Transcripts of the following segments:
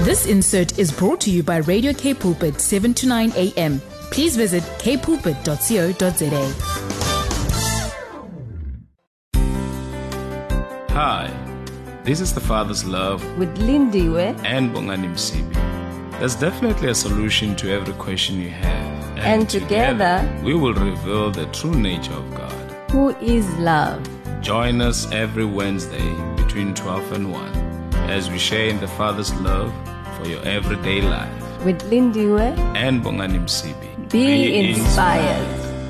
This insert is brought to you by Radio K Pulpit 7 to 9 a.m. Please visit kpulpit.co.za. Hi, this is The Father's Love with Lindiwe and Bongani Msibi. There's definitely a solution to every question you have. And together we will reveal the true nature of God, who is love. Join us every Wednesday between 12 and 1 as we share in the Father's love for your everyday life. With Lindiwe and Bongani Msibi. Be inspired.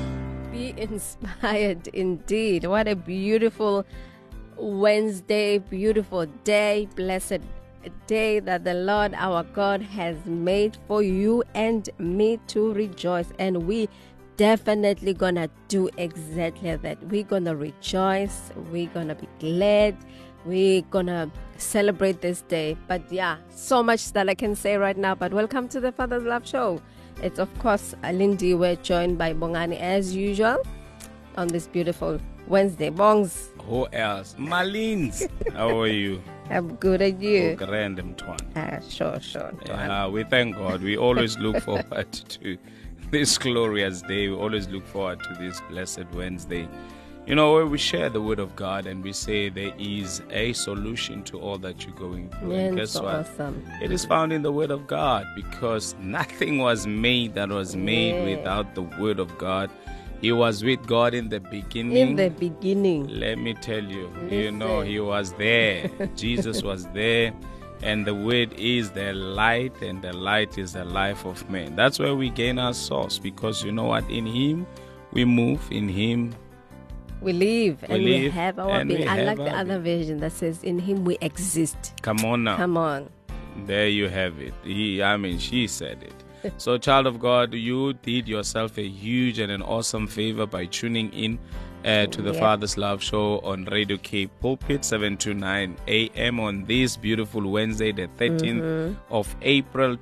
Be inspired indeed. What a beautiful Wednesday, beautiful day, blessed day that the Lord our God has made for you and me to rejoice. And we definitely gonna do exactly that. We're gonna rejoice, we're gonna be glad, we're gonna celebrate this day. But yeah, so much that I can say right now. But welcome to the Father's Love Show. It's of course Lindy. We're joined by Bongani as usual on this beautiful Wednesday. Bongs. Who else? Malines. How are you? I'm good at you. Random Twan. Sure. We thank God. We always look forward to this glorious day. We always look forward to this blessed Wednesday. You know, where we share the word of God and we say there is a solution to all that you're going through. And guess so what? Awesome. It is found in the word of God, because nothing was made that was made without the word of God. He was with God in the beginning. In the beginning. Let me tell you, he was there. Jesus was there. And the word is the light, and the light is the life of man. That's where we gain our source, because you know what? In him we move, in him we live, and we have our being. I like the other version that says, in him we exist. Come on now. Come on. There you have it. She said it. So, child of God, you did yourself a huge and an awesome favor by tuning in to the Father's Love Show on Radio K Pulpit 7 to 9 a.m. on this beautiful Wednesday, the 13th of April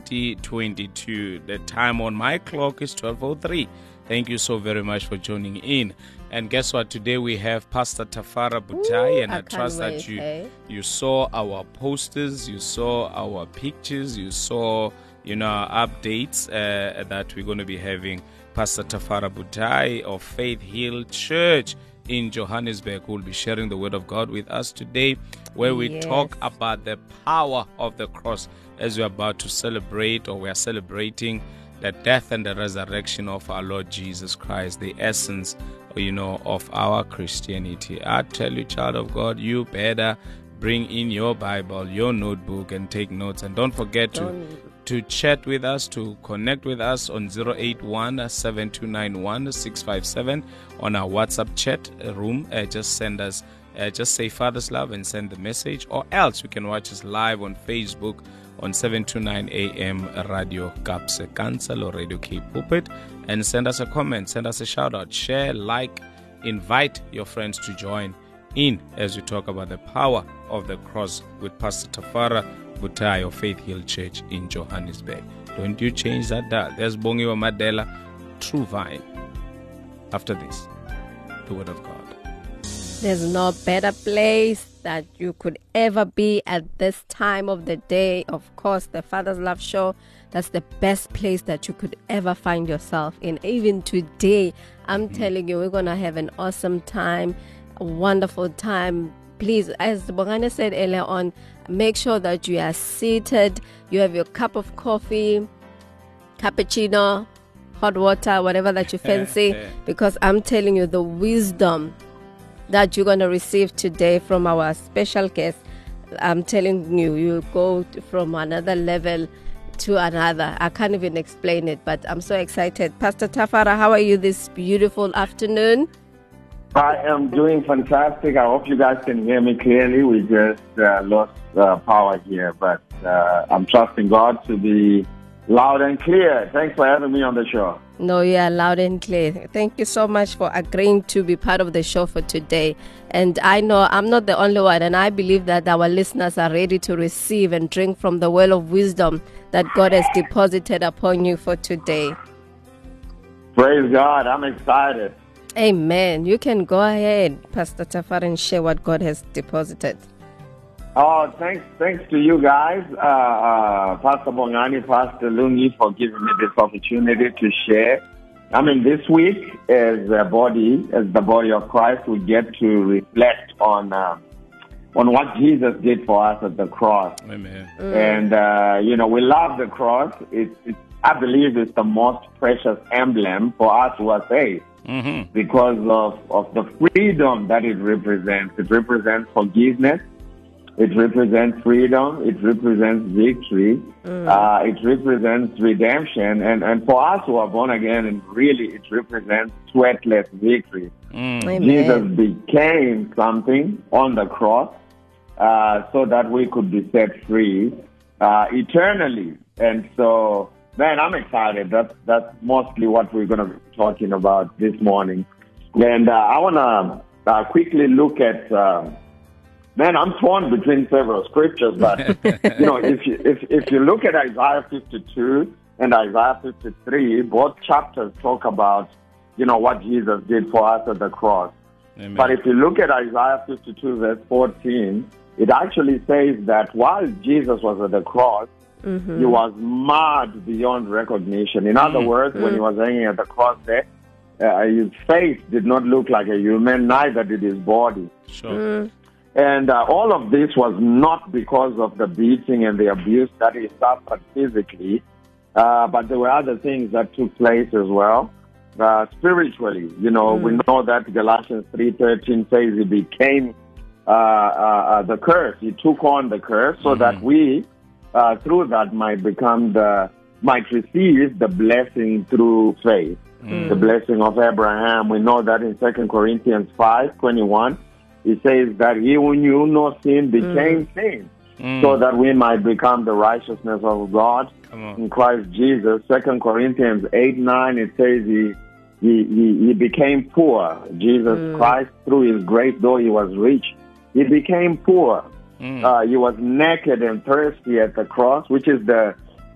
2022. The time on my clock is 12:03. Thank you so very much for joining in. And guess what? Today we have Pastor Tafara Butai, and I trust that you saw our posters, you saw our pictures, you saw updates that we're going to be having. Pastor Tafara Butai of Faith Hill Church in Johannesburg, who will be sharing the word of God with us today, where we talk about the power of the cross as we're about to celebrate, or we are celebrating the death and the resurrection of our Lord Jesus Christ, the essence, of our Christianity. I tell you, child of God, you better bring in your Bible, your notebook, and take notes. And don't forget to chat with us, to connect with us on 081-7291-657 on our WhatsApp chat room. Just send us, just say Father's Love and send the message, or else you can watch us live on Facebook on 7 to 9 a.m. Radio Kapse Cancel or Radio K Pulpit, and send us a comment, send us a shout out, share, like, invite your friends to join in as we talk about the power of the cross with Pastor Tafara Butai of Faith Hill Church in Johannesburg. Don't you change that dial. There's Bongiwa Madela, True Vine. After this, the word of God. There's no better place that you could ever be at this time of the day. Of course, the Father's Love Show, that's the best place that you could ever find yourself in. Even today, I'm telling you, we're going to have an awesome time, a wonderful time. Please, as Bongani said earlier on, make sure that you are seated, you have your cup of coffee, cappuccino, hot water, whatever that you fancy, because I'm telling you, the wisdom that you're going to receive today from our special guest, I'm telling you, you'll go from another level to another. I can't even explain it, but I'm so excited. Pastor Tafara, how are you this beautiful afternoon? I am doing fantastic. I hope you guys can hear me clearly. We just lost power here, but I'm trusting God to be loud and clear. Thanks for having me on the show. No, you are loud and clear. Thank you so much for agreeing to be part of the show for today. And I know I'm not the only one, and I believe that our listeners are ready to receive and drink from the well of wisdom that God has deposited upon you for today. Praise God. I'm excited. Amen. You can go ahead, Pastor Tafar, and share what God has deposited. Oh, thanks to you guys, Pastor Bongani, Pastor Lungi, for giving me this opportunity to share. I mean, this week, as the body of Christ, we get to reflect on what Jesus did for us at the cross. Amen. And we love the cross. I believe it's the most precious emblem for us who are saved. Mm-hmm. Because of the freedom that it represents. It represents forgiveness. It represents freedom. It represents victory. It represents redemption. And for us who are born again, and really it represents sweatless victory. Jesus became something on the cross so that we could be set free eternally. And so, man, I'm excited. That's mostly what we're going to be talking about this morning. And I want to quickly look at... Man, I'm torn between several scriptures, but if you look at Isaiah 52 and Isaiah 53, both chapters talk about what Jesus did for us at the cross. Amen. But if you look at Isaiah 52 verse 14, it actually says that while Jesus was at the cross, he was marred beyond recognition. In other words, when he was hanging at the cross there, his face did not look like a human, neither did his body. Sure. And all of this was not because of the beating and the abuse that he suffered physically, but there were other things that took place as well. Spiritually, we know that Galatians 3:13 says he became the curse. He took on the curse so that we, through that, might receive the blessing through faith, the blessing of Abraham. We know that in 2 Corinthians 5:21. He says that he who knew no sin became sin, so that we might become the righteousness of God in Christ Jesus. 2 Corinthians 8:9, it says he became poor. Jesus Christ, through his grace, though he was rich, he became poor. He was naked and thirsty at the cross, which is the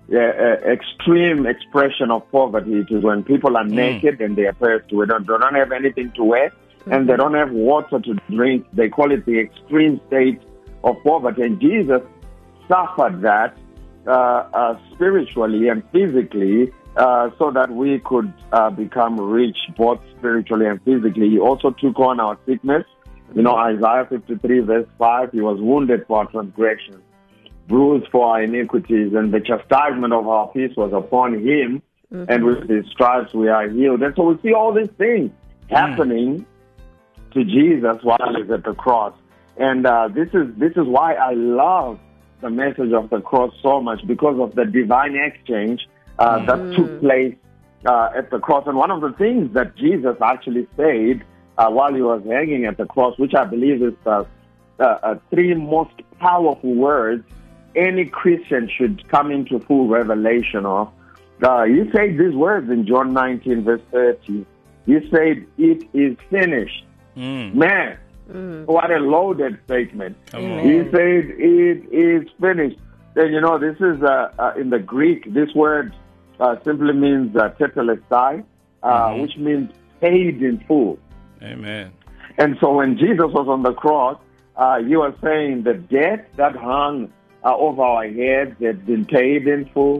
extreme expression of poverty. It is when people are naked and they are thirsty. They don't have anything to wear. And they don't have water to drink. They call it the extreme state of poverty. And Jesus suffered that spiritually and physically so that we could become rich both spiritually and physically. He also took on our sickness. Isaiah 53 verse 5, he was wounded for our transgressions, bruised for our iniquities, and the chastisement of our peace was upon him, and with his stripes we are healed. And so we see all these things happening to Jesus while he's at the cross. And this is why I love the message of the cross so much, because of the divine exchange that took place at the cross. And one of the things that Jesus actually said while he was hanging at the cross, which I believe is the three most powerful words any Christian should come into full revelation of. He said these words in John 19 verse 30. He said, "It is finished." Man, what a loaded statement. He said, "It is finished." And this is in the Greek, this word simply means tetelestai, which means paid in full. Amen. And so when Jesus was on the cross, he was saying the debt that hung over our heads had been paid in full.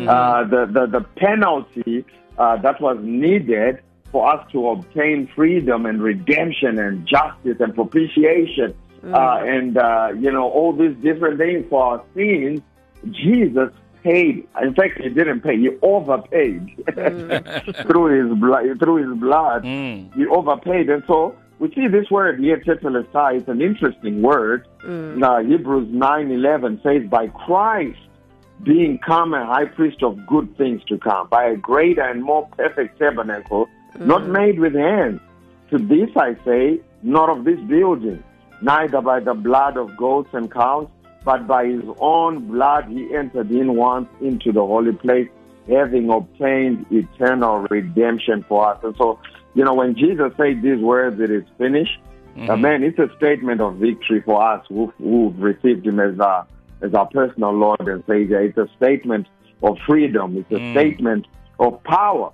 The penalty that was needed for us to obtain freedom and redemption and justice and propitiation and all these different things for our sins, Jesus paid. In fact, he didn't pay; he overpaid through his blood. He overpaid, and so we see this word here, tetelestai. It's an interesting word. Hebrews 9:11 says, "By Christ being come a high priest of good things to come, by a greater and more perfect tabernacle, not made with hands. To this I say, not of this building, neither by the blood of goats and cows, but by his own blood he entered in once into the holy place, having obtained eternal redemption for us." And so, when Jesus said these words, "It is finished," man, it's a statement of victory for us who've received him as our personal Lord and Savior. It's a statement of freedom. It's a statement of power.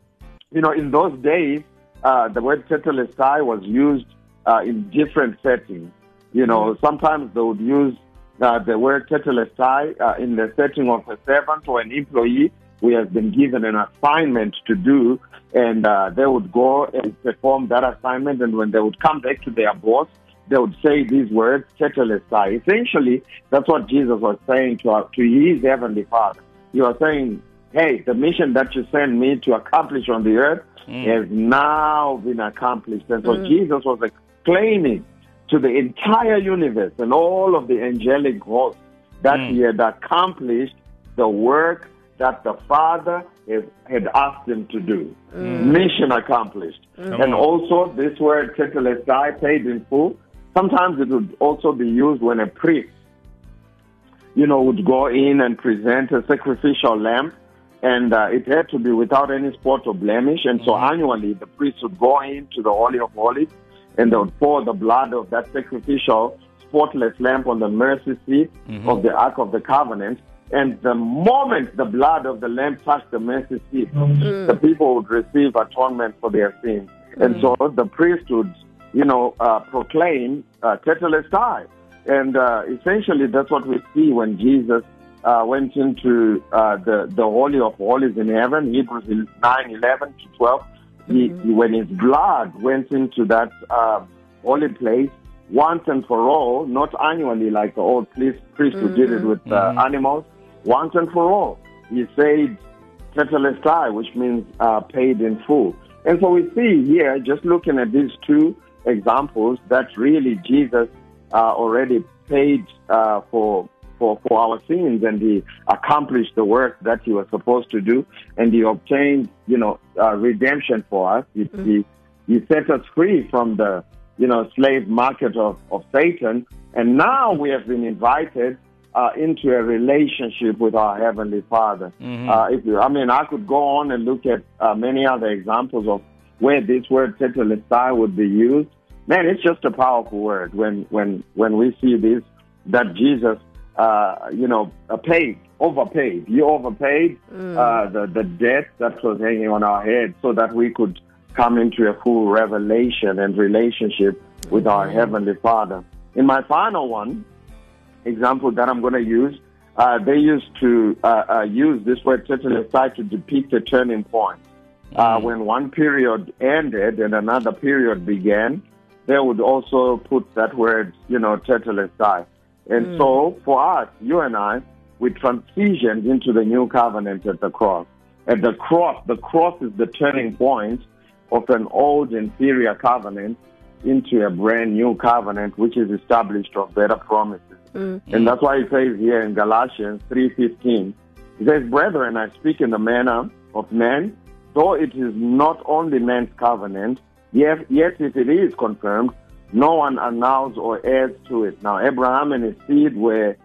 In those days, the word tetelestai was used in different settings. Sometimes they would use the word tetelestai in the setting of a servant or an employee who has been given an assignment to do, and they would go and perform that assignment, and when they would come back to their boss, they would say these words, tetelestai. Essentially, that's what Jesus was saying to his heavenly Father. He was saying, hey, the mission that you sent me to accomplish on the earth has now been accomplished. And so Jesus was exclaiming to the entire universe and all of the angelic hosts that he had accomplished the work that the Father had asked him to do. Mission accomplished. And also this word tetelestai, paid in full, sometimes it would also be used when a priest, would go in and present a sacrificial lamb, and it had to be without any spot or blemish. And so annually, the priest would go into the Holy of Holies, and they would pour the blood of that sacrificial, spotless lamb on the mercy seat of the Ark of the Covenant. And the moment the blood of the lamb touched the mercy seat, the people would receive atonement for their sins. And so the priest would, proclaim tetelestai. And essentially, that's what we see when Jesus went into the Holy of Holies in heaven, Hebrews 9:11-12. When his blood went into that holy place once and for all, not annually like the old priest who did it with animals, once and for all, he said tetelestai, which means paid in full. And so we see here, just looking at these two examples, that really Jesus already paid for our sins, and he accomplished the work that he was supposed to do, and he obtained, redemption for us. He set us free from the, slave market of Satan, and now we have been invited into a relationship with our Heavenly Father. I could go on and look at many other examples of where this word tetelestai would be used. Man, it's just a powerful word when we see this, that Jesus, overpaid. He overpaid the debt that was hanging on our head so that we could come into a full revelation and relationship with our Heavenly Father. In my final example that I'm going to use, they used to use this word tetelestai to depict a turning point. When one period ended and another period began, they would also put that word, tetelestai. And so for us, you and I, we transitioned into the new covenant at the cross. At the cross is the turning point of an old inferior covenant into a brand new covenant, which is established of better promises. And that's why it says here in Galatians 3:15, it says, brethren, I speak in the manner of men, though it is not only man's covenant, yet if it is confirmed, no one annuls or adds to it. Now, to Abraham and his seed were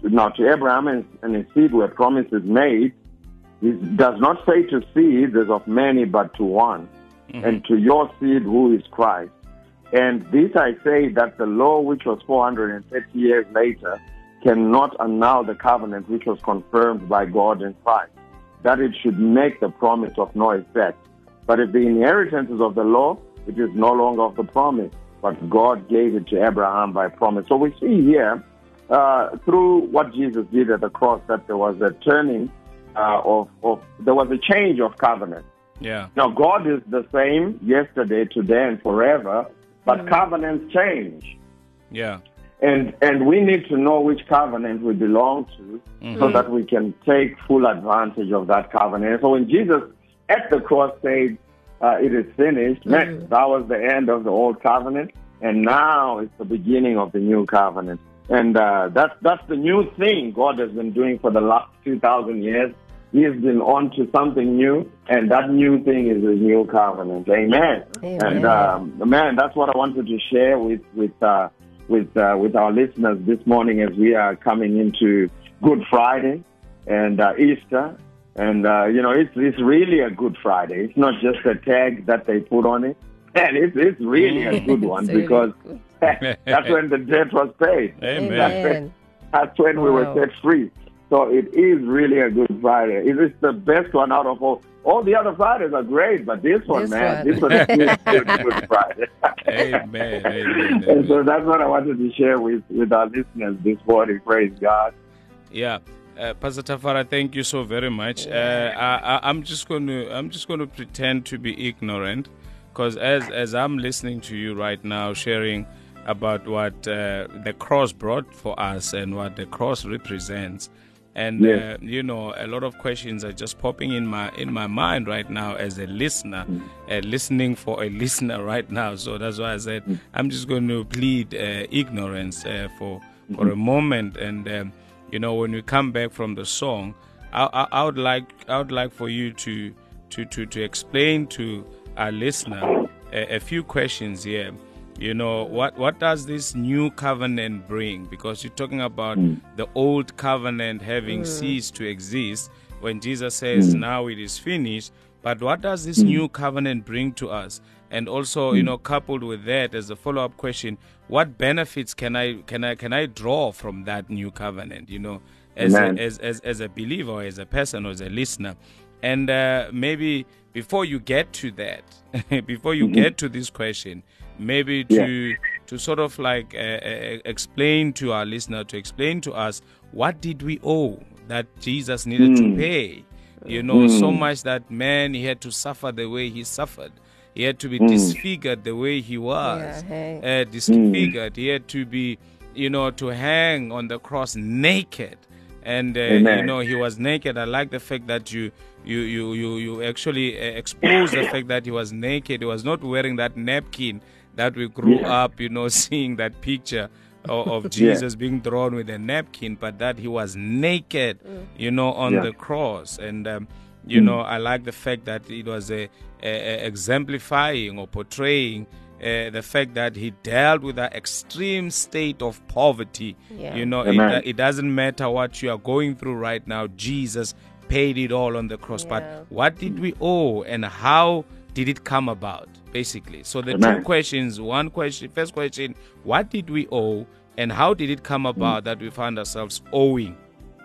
promises made. It does not say to seeds as of many, but to one, and to your seed who is Christ. And this I say, that the law, which was 430 years later, cannot annul the covenant which was confirmed by God in Christ, that it should make the promise of no effect. But if the inheritance is of the law, it is no longer of the promise, but God gave it to Abraham by promise. So we see here, through what Jesus did at the cross, that there was a turning there was a change of covenant. Yeah. Now, God is the same yesterday, today, and forever, but covenants change. Yeah. And we need to know which covenant we belong to so that we can take full advantage of that covenant. So when Jesus at the cross said, it is finished, that was the end of the old covenant, and now it's the beginning of the new covenant. And that's the new thing God has been doing for the last 2,000 years. He has been on to something new, and that new thing is the new covenant. Amen. And man, that's what I wanted to share with our listeners this morning as we are coming into Good Friday and Easter. And it's really a Good Friday. It's not just a tag that they put on it. And it's really a good one because that's when the debt was paid. Amen. That's when we were set free. So it is really a Good Friday. It is the best one out of all all the other Fridays are great, but this one, this one is Good Friday. Amen. And so that's what I wanted to share with our listeners this morning. Praise God. Yeah. Pastor Tafara, thank you so very much. I'm just going to pretend to be ignorant, because as I'm listening to you right now, sharing about what the cross brought for us and what the cross represents, and Yes. a lot of questions are just popping in my mind right now as a listener, listening for a listener right now. So that's why I said I'm just going to plead ignorance for a moment, and when we come back from the song, I would like for you to explain to our listener a few questions here. What does this new covenant bring? Because you're talking about the old covenant having ceased to exist when Jesus says now it is finished. But what does this new covenant bring to us? And also, coupled with that, as a follow-up question, what benefits can I draw from that new covenant? As a believer, as a person, or as a listener. And maybe before you get to that, before you get to this question, maybe to sort of like explain to our listener, to explain to us, what did we owe that Jesus needed to pay? So much that man, he had to suffer the way he suffered. He had to be disfigured the way he was. Disfigured. He had to be, to hang on the cross naked. And, he was naked. I like the fact that you actually exposed the fact that he was naked. He was not wearing that napkin that we grew up, seeing that picture of Jesus being drawn with a napkin, but that he was naked, on the cross. And, I like the fact that it was exemplifying or portraying the fact that he dealt with that extreme state of poverty. It doesn't matter what you are going through right now. Jesus paid it all on the cross. But what did we owe, and how did it come about, basically? So the two questions. First question, what did we owe, and how did it come about that we found ourselves owing,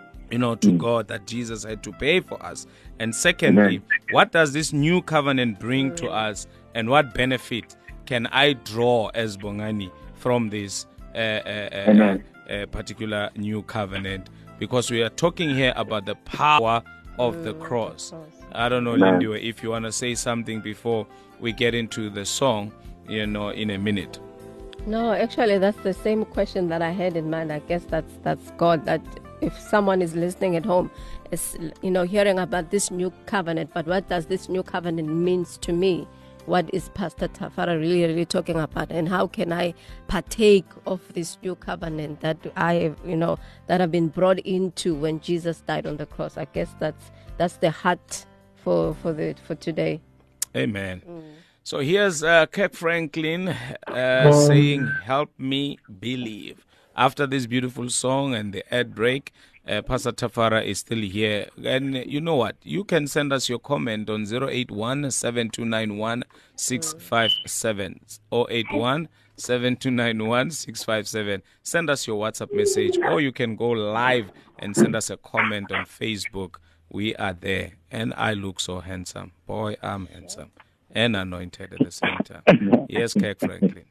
to God, that Jesus had to pay for us? And secondly, what does this new covenant bring to us, and what benefit can I draw as Bongani from this particular new covenant? Because we are talking here about the power of the cross. I don't know, Lindiwe, if you want to say something before we get into the song, in a minute. No, actually, that's the same question that I had in mind. I guess that's God, that if someone is listening at home, is hearing about this new covenant, but what does this new covenant means to me? What is Pastor Tafara really talking about, and how can I partake of this new covenant that I that I've been brought into when Jesus died on the cross? I guess that's the heart for today. Amen. So here's Kirk Franklin saying, "Help me believe." After this beautiful song and the ad break, Pastor Tafara is still here. And you know what? You can send us your comment on 081-7291-657. 081-7291-657. Send us your WhatsApp message, or you can go live and send us a comment on Facebook. We are there. And I look so handsome. Boy, I'm handsome. And anointed at the same time. Yes, Kirk Franklin.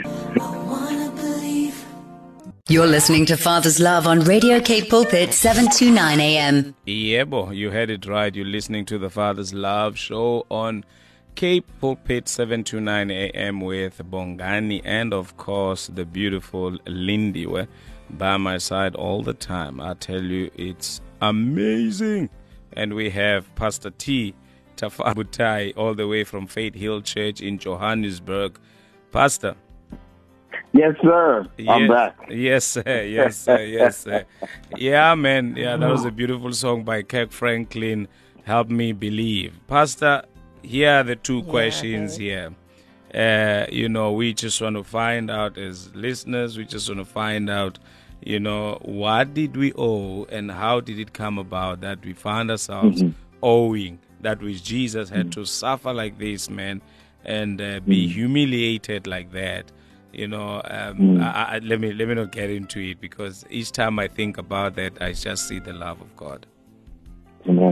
You're listening to Father's Love on Radio Cape Pulpit, 729 AM. Yebo, you heard it right. You're listening to the Father's Love show on Cape Pulpit, 729 AM with Bongani and, of course, the beautiful Lindiwe by my side all the time. I tell you, it's amazing. And we have Pastor T. Tafara Butai all the way from Faith Hill Church in Johannesburg. Pastor. Yes, sir. I'm back. Yes, sir. Yes, sir. Yes, sir. Yeah, man. Yeah, that was a beautiful song by Kirk Franklin, Help Me Believe. Pastor, here are the two questions here. We just want to find out as listeners, we just want to find out, what did we owe and how did it come about that we found ourselves owing that which Jesus had to suffer like this, man, and be humiliated like that. Let me not get into it, because each time I think about that, I just see the love of God. Amen.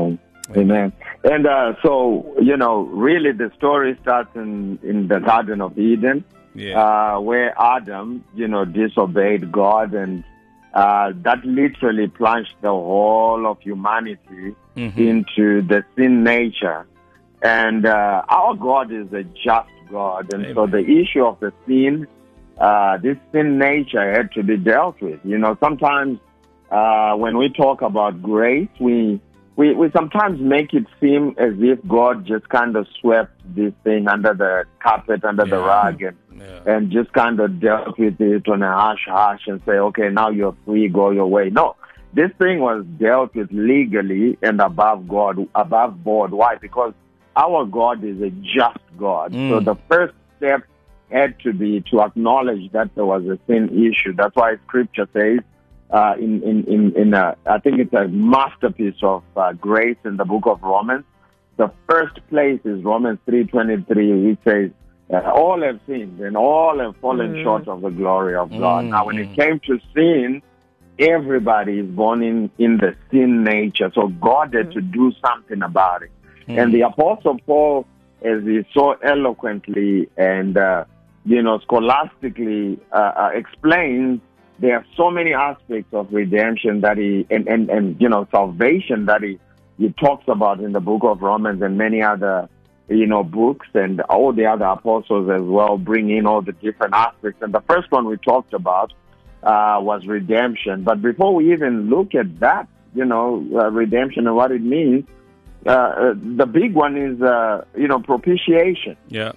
Amen. And so, really the story starts in the Garden of Eden, where Adam, disobeyed God, and that literally plunged the whole of humanity into the sin nature. And our God is a just God. And so the issue of the sin, this sin nature had to be dealt with. Sometimes when we talk about grace, we sometimes make it seem as if God just kind of swept this thing under the carpet, under the rug, and just kind of dealt with it on a hush and say, okay, now you're free, go your way. No, this thing was dealt with legally and above board. Why? Because our God is a just God. So the first step had to be to acknowledge that there was a sin issue. That's why Scripture says, I think it's a masterpiece of grace in the book of Romans. The first place is Romans 3:23, which says, all have sinned and all have fallen short of the glory of God. Now, when it came to sin, everybody is born in the sin nature. So God had to do something about it. And the Apostle Paul, as he so eloquently and, scholastically explains, there are so many aspects of redemption that salvation that he talks about in the book of Romans, and many other, books, and all the other apostles as well bring in all the different aspects. And the first one we talked about was redemption. But before we even look at that, redemption and what it means, the big one is, propitiation. Yeah.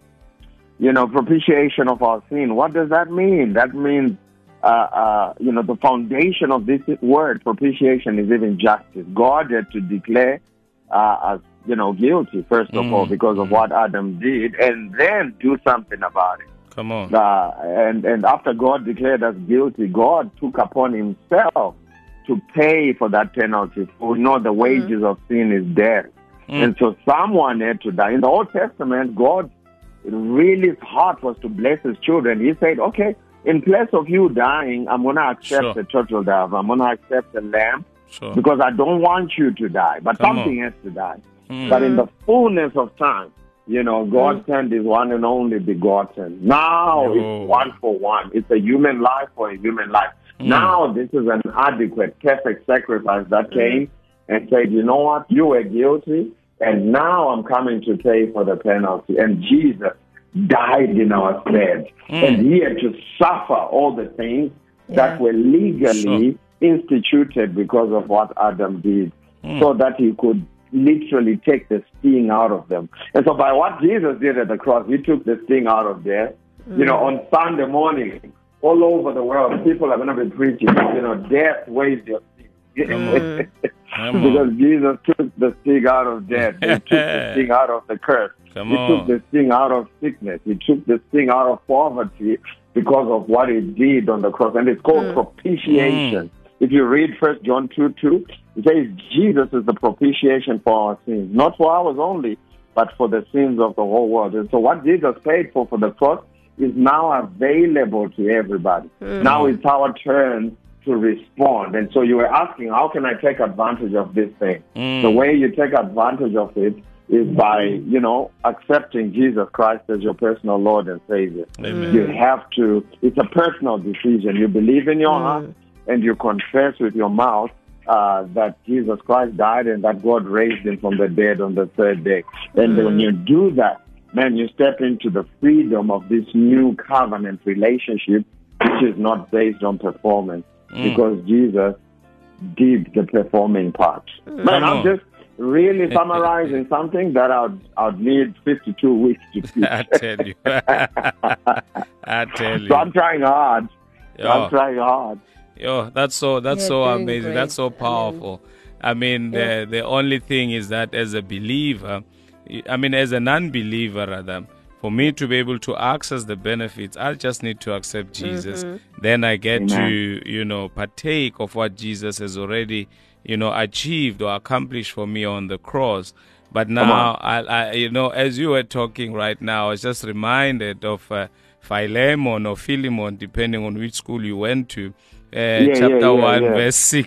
Propitiation of our sin. What does that mean? That means the foundation of this word, propitiation, is even justice. God had to declare us, guilty, first of all, because of what Adam did, and then do something about it. Come on. And after God declared us guilty, God took upon himself to pay for that penalty. For we know the wages of sin is death. And so someone had to die. In the Old Testament, God, really his heart was to bless his children. He said, okay, in place of you dying, I'm going to accept the turtle dove. I'm going to accept the lamb because I don't want you to die. But something has to die. But in the fullness of time, God sent his one and only begotten. Now it's one for one. It's a human life for a human life. Now this is an adequate, perfect sacrifice that came and said, you know what, you were guilty, and now I'm coming to pay for the penalty. And Jesus died in our stead. And he had to suffer all the things that were legally instituted because of what Adam did, so that he could literally take the sting out of them. And so by what Jesus did at the cross, he took the sting out of death. On Sunday morning, all over the world, people are going to be preaching, death weighs your sting. Because Jesus took the sting out of death. He took the sting out of the curse. He took the sting out of sickness. He took the sting out of poverty because of what he did on the cross. And it's called propitiation. If you read 1 John 2:2, it says Jesus is the propitiation for our sins. Not for ours only, but for the sins of the whole world. And so what Jesus paid for the cross is now available to everybody. Now it's our turn to respond. And so you were asking, how can I take advantage of this thing? The way you take advantage of it is by, accepting Jesus Christ as your personal Lord and Savior. Amen. You have to, it's a personal decision. You believe in your heart and you confess with your mouth that Jesus Christ died and that God raised him from the dead on the third day. And when you do that, man, you step into the freedom of this new covenant relationship, which is not based on performance, because Jesus did the performing part. Man, I'm just really summarizing something that I'd need 52 weeks to teach. I tell you. I tell you. So I'm trying hard. Yo, that's so amazing. Great. That's so powerful. I mean, the only thing is that as a believer, as a non-believer rather, for me to be able to access the benefits, I just need to accept Jesus. Then I get to, partake of what Jesus has already, achieved or accomplished for me on the cross. But now, I as you were talking right now, I was just reminded of Philemon or Philemon, depending on which school you went to. Chapter 1, verse 6.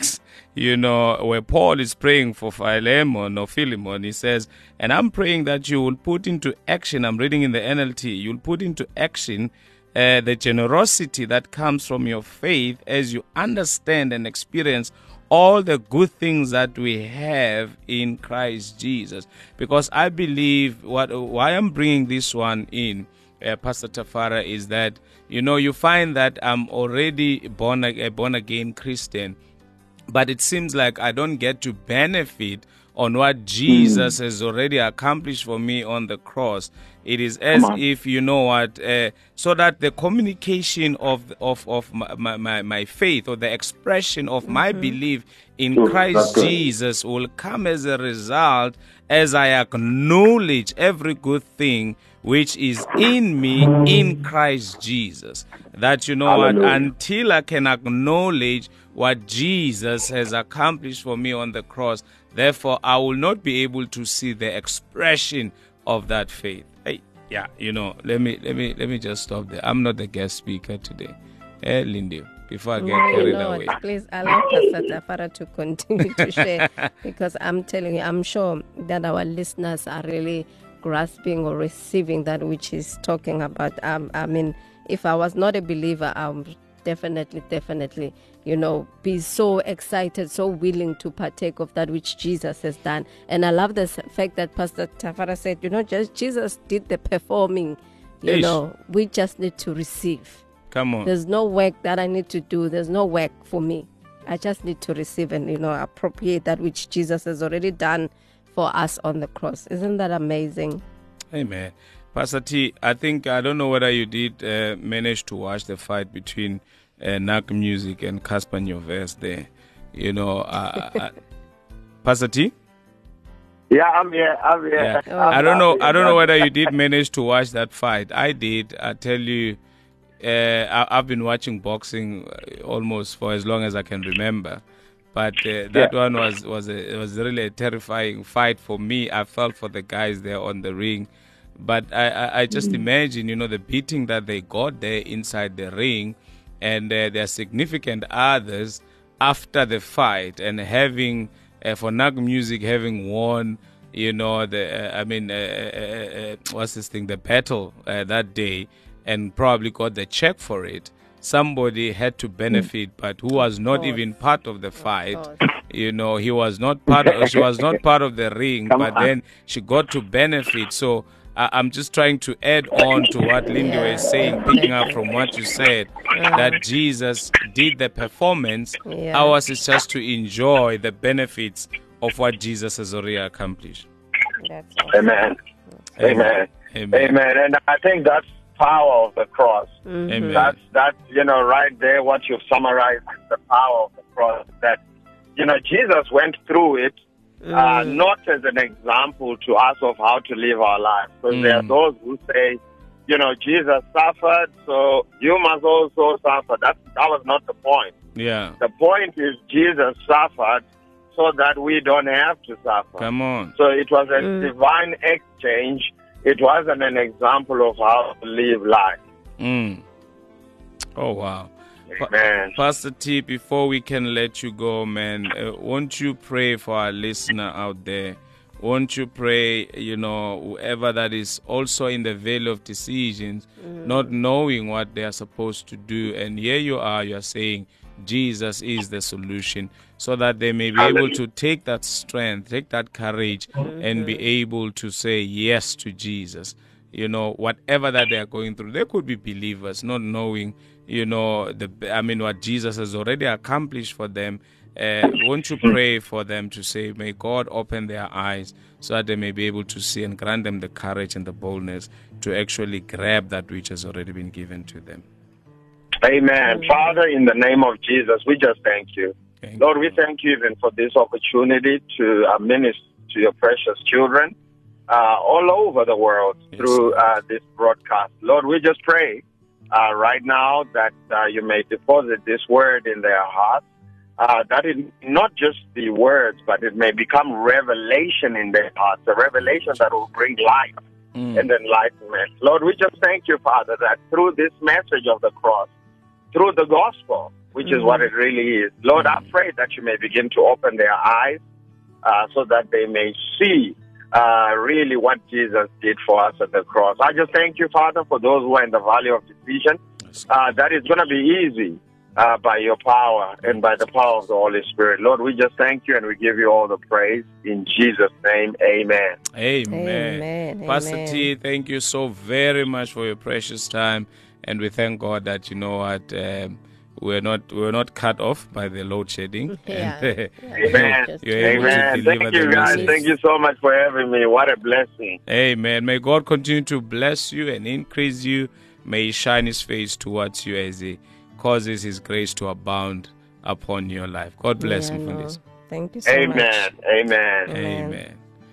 where Paul is praying for Philemon or Philemon, he says, and I'm praying that you will put into action, I'm reading in the NLT, you'll put into action the generosity that comes from your faith as you understand and experience all the good things that we have in Christ Jesus. Because I believe why I'm bringing this one in, Pastor Tafara, is that, you find that I'm already a born again Christian, but it seems like I don't get to benefit on what Jesus has already accomplished for me on the cross. It is as if, so that the communication of my faith, or the expression of my belief in Christ Jesus, will come as a result as I acknowledge every good thing which is in me in Christ Jesus. That, until I can acknowledge what Jesus has accomplished for me on the cross, therefore I will not be able to see the expression of that faith. Hey, yeah, let me just stop there. I'm not the guest speaker today. Lindy, before I get carried away. Please allow Pastor Tafara to continue to share, because I'm telling you, I'm sure that our listeners are really grasping or receiving that which he's talking about. I mean, if I was not a believer, I'm definitely, be so excited, so willing to partake of that which Jesus has done. And I love the fact that Pastor Tafara said, just Jesus did the performing. We just need to receive. Come on. There's no work that I need to do. There's no work for me. I just need to receive and, appropriate that which Jesus has already done for us on the cross. Isn't that amazing? Amen. Pastor T, I don't know whether you did manage to watch the fight between Nak Music and Casper Nyovest there. Pastor T? Yeah, I'm here. Yeah. I don't know whether you did manage to watch that fight. I did. I tell you, I've been watching boxing almost for as long as I can remember. But that one was really a terrifying fight for me. I felt for the guys there on the ring. But I just imagine, the beating that they got there inside the ring, and their significant others after the fight, and having, for Nak Music having won, the battle that day, and probably got the check for it. Somebody had to benefit, but who was not even part of the fight. He was not part. She was not part of the ring, but then she got to benefit. So I'm just trying to add on to what Lindy was saying, picking up from what you said, that Jesus did the performance. Ours is just to enjoy the benefits of what Jesus has already accomplished. Amen. Amen. Amen. And I think that's power of the cross. Amen. That's right there, what you've summarized is the power of the cross. That Jesus went through it, not as an example to us of how to live our lives. Because there are those who say, Jesus suffered, so you must also suffer. That was not the point. Yeah. The point is Jesus suffered so that we don't have to suffer. Come on. So it was a divine exchange. It wasn't an example of how to live life. Oh, wow. Amen. Pastor T, before we can let you go, man, won't you pray for our listener out there? Won't you pray, whoever that is also in the valley of decisions, not knowing what they are supposed to do. And here you're saying Jesus is the solution, so that they may be able to take that strength, take that courage, and be able to say yes to Jesus. Whatever that they are going through, they could be believers, not knowing, what Jesus has already accomplished for them. Won't you pray for them to say, may God open their eyes so that they may be able to see, and grant them the courage and the boldness to actually grab that which has already been given to them. Amen. Father, in the name of Jesus, we just thank you. Lord, we thank you even for this opportunity to minister to your precious children all over the world through this broadcast. Lord, we just pray right now that you may deposit this word in their hearts, that it not just be words, but it may become revelation in their hearts, a revelation that will bring life and enlightenment. Lord, we just thank you, Father, that through this message of the cross, through the gospel, which is what it really is. Lord, I pray that you may begin to open their eyes so that they may see really what Jesus did for us at the cross. I just thank you, Father, for those who are in the valley of decision. That is going to be easy by your power and by the power of the Holy Spirit. Lord, we just thank you and we give you all the praise. In Jesus' name, amen. Amen. Pastor T, thank you so very much for your precious time. And we thank God that, you know what, we're not cut off by the load shedding. Amen. You're able to deliver Thank you, the guys. message. Thank you so much for having me. What a blessing. Amen. May God continue to bless you and increase you. May He shine His face towards you as He causes His grace to abound upon your life. God bless you for this. Thank you so much. Amen.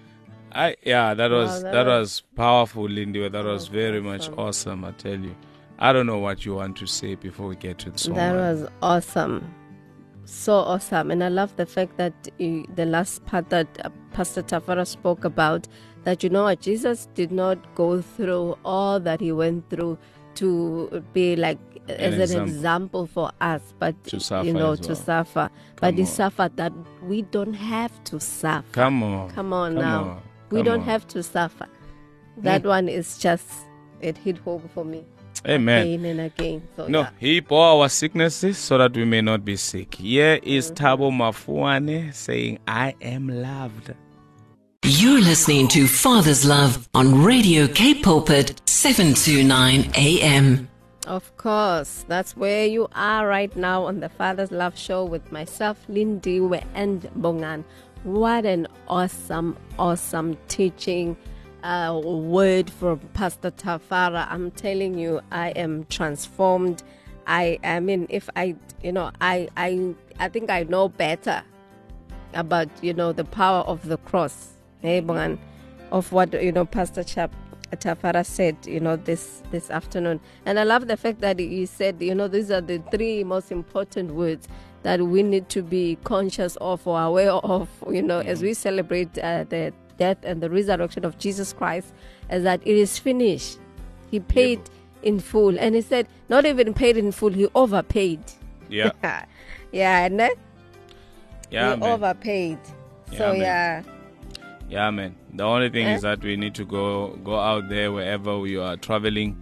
That was powerful, Lindy. That was very much awesome, I tell you. I don't know what you want to say before we get to the song. That was awesome. So awesome. And I love the fact that the last part that Pastor Tafara spoke about, that, you know what, Jesus did not go through all that He went through to be like as an example for us, but to suffer, to suffer. But He suffered that we don't have to suffer. Come on now. We don't have to suffer. That one is just, it hit home for me. Amen. Again and again. So, no, He bore our sicknesses so that we may not be sick. Here is Thabo Mafuane saying, I am loved. You're listening to Father's Love on Radio K Pulpit 729 AM. Of course, that's where you are right now on the Father's Love Show with myself, Lindiwe, and Bongan. What an awesome teaching word from Pastor Tafara. I'm telling you, I am transformed. I mean, if I think I know better about, the power of the cross, of what, Pastor Tafara said, this afternoon. And I love the fact that he said, these are the three most important words that we need to be conscious of or aware of, as we celebrate the death and the resurrection of Jesus Christ, is that it is finished. He paid in full. And he said, not even paid in full, he overpaid. Yeah. He overpaid. Yeah, man. The only thing is that we need to go out there wherever we are traveling,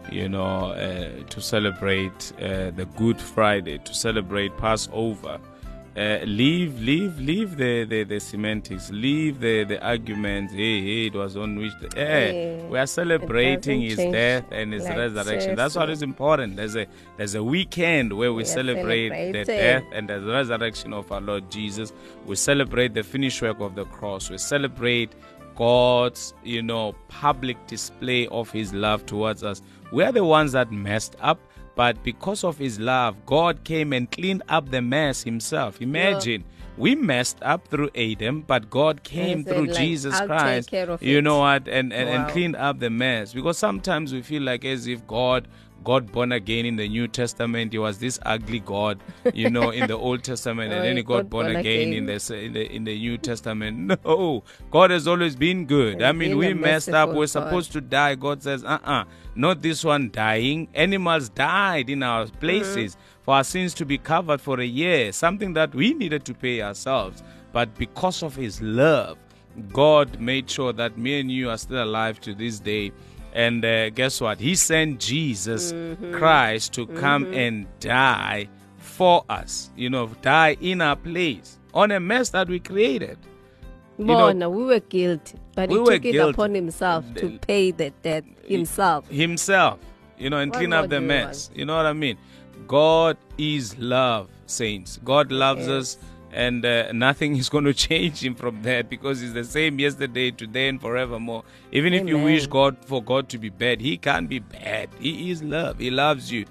to celebrate the Good Friday, to celebrate Passover. Leave the semantics, leave the arguments. Hey, it was on which we are celebrating His death and His resurrection. Seriously. That's what is important. There's a weekend where we celebrate the death and the resurrection of our Lord Jesus. We celebrate the finished work of the cross. We celebrate God's public display of His love towards us. We are the ones that messed up. But because of His love, God came and cleaned up the mess Himself. Imagine, we messed up through Adam, but God came through Jesus Christ, and cleaned up the mess. Because sometimes we feel like as if God born again in the New Testament, He was this ugly God, in the Old Testament, and then He got born again in the New Testament. No, God has always been good. I mean, we messed up. We're supposed to die. God says, not this one dying. Animals died in our places for our sins to be covered for a year, something that we needed to pay ourselves. But because of His love, God made sure that me and you are still alive to this day. And guess what? He sent Jesus Christ to come and die for us. Die in our place on a mess that we created. We were guilty, but He took it upon Himself to pay the debt Himself, and clean up the mess. You know what I mean? God is love, saints. God loves us. And nothing is going to change Him from that, because He's the same yesterday, today, and forevermore. Even if you wish for God to be bad, He can't be bad. He is love. He loves you,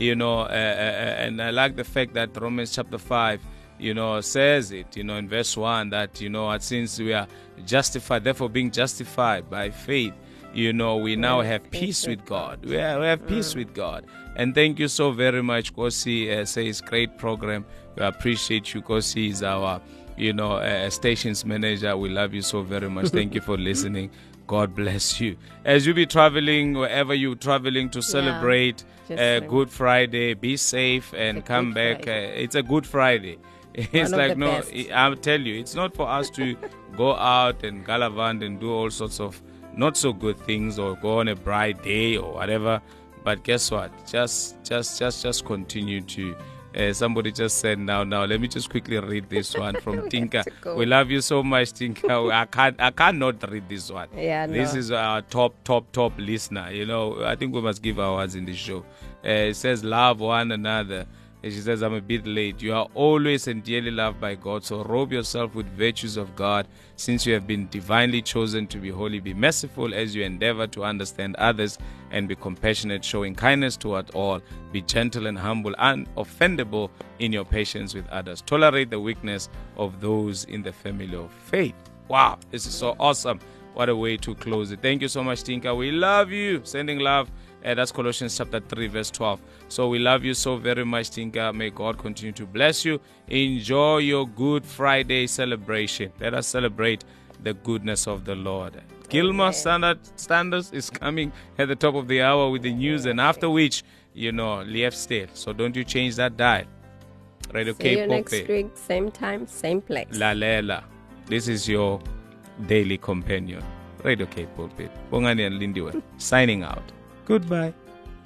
and I like the fact that Romans chapter 5, says it, in verse 1, that, since we are justified, therefore being justified by faith, we now have peace with God. We have peace with God. And thank you so very much, Kosi. Says great program. We appreciate you, because He's our, stations manager. We love you so very much. Thank you for listening. God bless you. As you be traveling, wherever you're traveling to celebrate Good Friday, be safe and come back. It's a Good Friday. It's like, no, I'll tell you, it's not for us to go out and galavant and do all sorts of not so good things or go on a bright day or whatever. But guess what? Just continue to. Somebody just said now. Let me just quickly read this one from Tinka. We love you so much, Tinka. I cannot read this one. This is our top listener. You know, I think we must give ours in the show. It says, love one another. And she says, I'm a bit late. You are always and dearly loved by God, so robe yourself with virtues of God, since you have been divinely chosen to be holy. Be merciful as you endeavor to understand others, and be compassionate, showing kindness toward all. Be gentle and humble, unoffendable in your patience with others. Tolerate the weakness of those in the family of faith. Wow, this is so awesome. What a way to close it. Thank you so much, Tinka. We love you. Sending love. That's Colossians chapter 3, verse 12. So we love you so very much, Tinka. May God continue to bless you. Enjoy your Good Friday celebration. Let us celebrate the goodness of the Lord. Gilmore Standards is coming at the top of the hour with the news, and after which, Lief State. So don't you change that dial. Radio See you next week, same time, same place. Lalela. This is your daily companion. Radio Cape Pulpit. Bongani and Lindiwe signing out. Goodbye.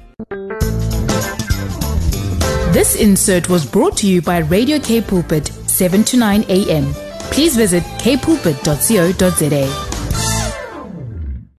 This insert was brought to you by Radio Cape Pulpit, 7 to 9 a.m. Please visit kpulpit.co.za.